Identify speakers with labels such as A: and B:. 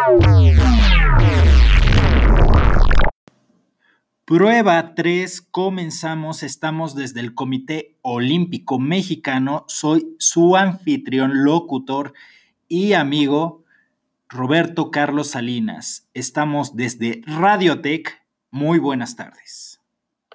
A: Prueba 3, comenzamos, estamos desde el Comité Olímpico Mexicano, soy su anfitrión, locutor y amigo Roberto Carlos Salinas. Estamos desde Radiotech, muy buenas tardes.